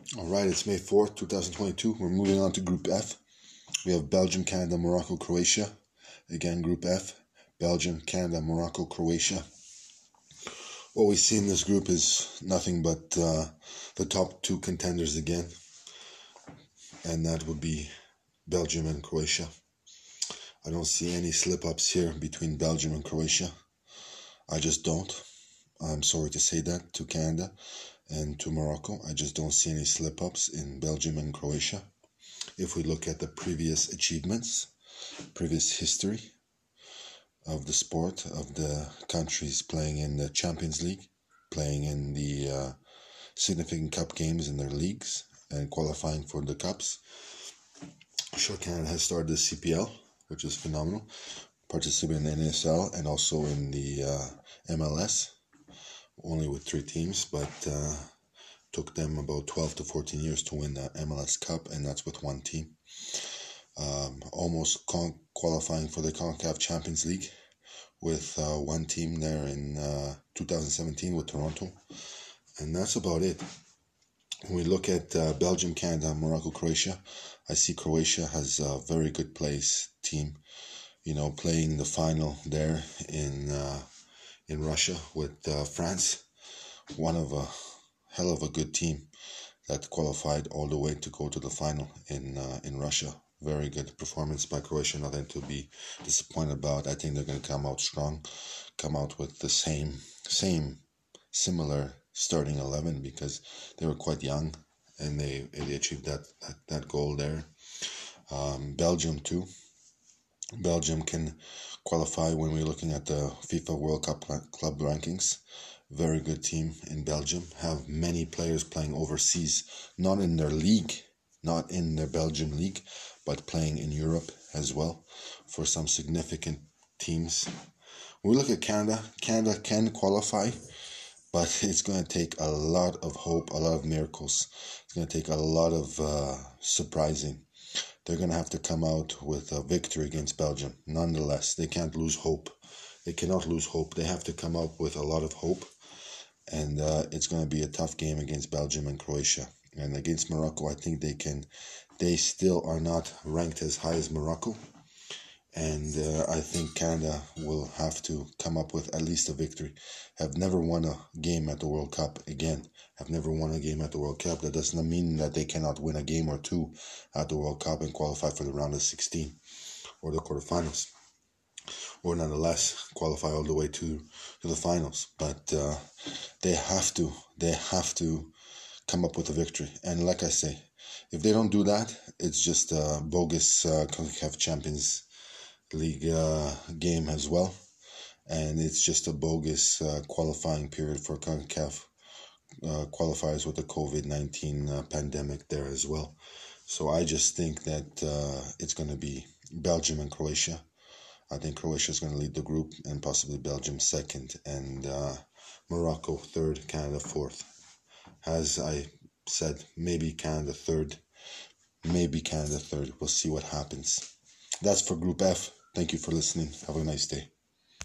All right, it's May 4th, 2022. We're moving on to Group F. We have Belgium, Canada, Morocco, Croatia. Again, Group F. Belgium, Canada, Morocco, Croatia. What we see in this group is nothing but the top two contenders again. And that would be Belgium and Croatia. I don't see any slip-ups here between Belgium and Croatia. I just don't. I'm sorry to say that to Canada and to Morocco. I just don't see any slip-ups in Belgium and Croatia. If we look at the previous achievements, previous history of the sport, of the countries playing in the Champions League, playing in the significant cup games in their leagues and qualifying for the cups. Sure, Canada has started the CPL, which is phenomenal, participating in the NSL and also in the MLS, only with 3 teams, but took them about 12 to 14 years to win the MLS Cup, and that's with 1 team. Almost qualifying for the CONCACAF Champions League with 1 team there in 2017 with Toronto, and that's about it. When we look at Belgium, Canada, Morocco, Croatia, I see Croatia has a very good place team, playing the final there in Russia with France. One of a hell of a good team that qualified all the way to go to the final in Russia. Very good performance by Croatia, nothing to be disappointed about. I think they're going to come out strong, come out with the similar starting 11 because they were quite young and they achieved that goal there. Belgium too. Belgium can qualify when we're looking at the FIFA World Cup club rankings. Very good team in Belgium. Have many players playing overseas, not in their league, not in their Belgium league, but playing in Europe as well for some significant teams. When we look at Canada, Canada can qualify, but it's going to take a lot of hope, a lot of miracles. It's going to take a lot of surprising. They're going to have to come out with a victory against Belgium. Nonetheless, they can't lose hope. They cannot lose hope. They have to come out with a lot of hope. And it's going to be a tough game against Belgium and Croatia. And against Morocco, I think they still are not ranked as high as Morocco. And I think Canada will have to come up with at least a victory. Have never won a game at the World Cup again. Have never won a game at the World Cup. That does not mean that they cannot win a game or 2 at the World Cup and qualify for the round of 16 or the quarterfinals. Or nonetheless, qualify all the way to the finals. But they have to come up with a victory. And like I say, if they don't do that, it's just a bogus CONCACAF Champions League game as well, and it's just a bogus qualifying period for CONCACAF qualifiers with the COVID-19 pandemic there as well. So I just think that it's going to be Belgium and Croatia. I think Croatia is going to lead the group and possibly Belgium second and Morocco third, Canada fourth. As I said, maybe Canada third. We'll see what happens. That's for Group F. Thank you for listening. Have a nice day.